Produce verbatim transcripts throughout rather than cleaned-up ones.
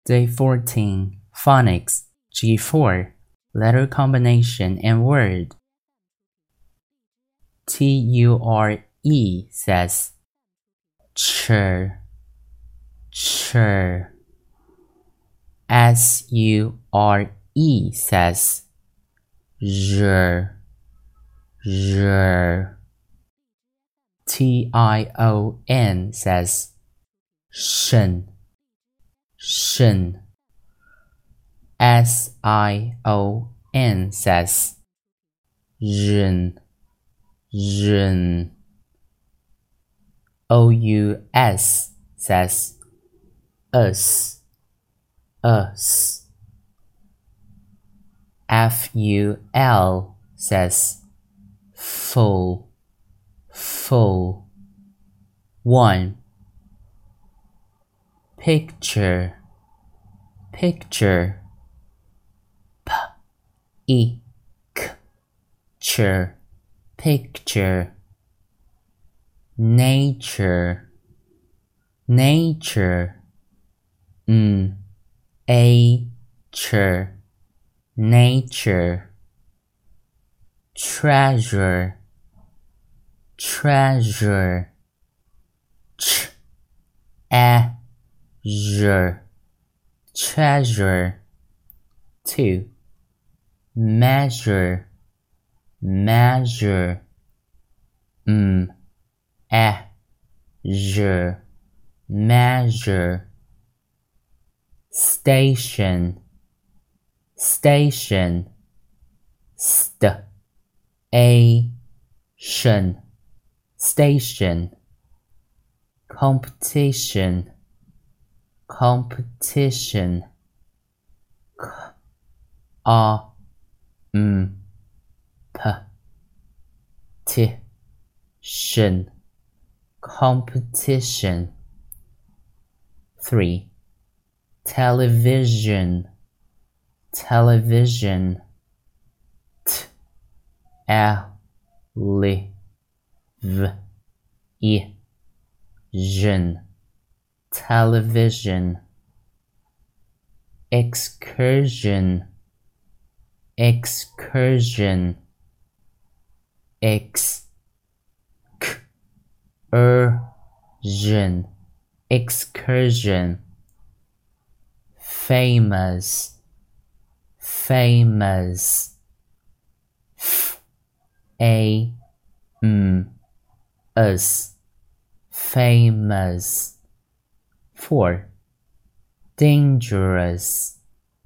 Day fourteen. Phonics. G four. Letter combination and word. T U R E says chur, chur. S U R E says r, r. T I O N says shen, shen. S I O N says ren, ren. O U S says us, us. F U L says full, full. One. Picture, picture. P E K ture, picture. Nature, nature. N A ture, nature. Treasure, treasure. Ch A R, treasure. Two. Measure, measure. M A R, measure. Station, station. St A Shen, station. Competition, competition. K A M P T Shen, competition. Three. Television, television. T L V E N, television. Excursion, excursion. X K R N, excursion. Famous, famous. F A M S, famous. Four. Dangerous,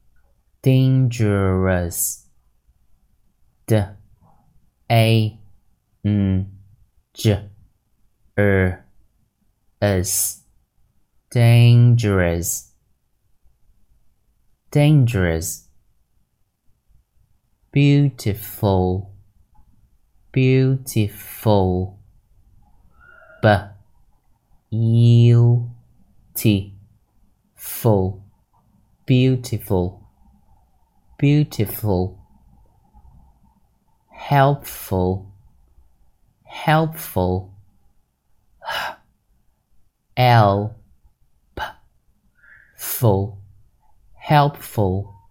dangerous. D A N G R S, dangerous, dangerous. Beautiful, beautiful. B U T Full, beautiful, beautiful. Helpful, helpful. L P Full, helpful.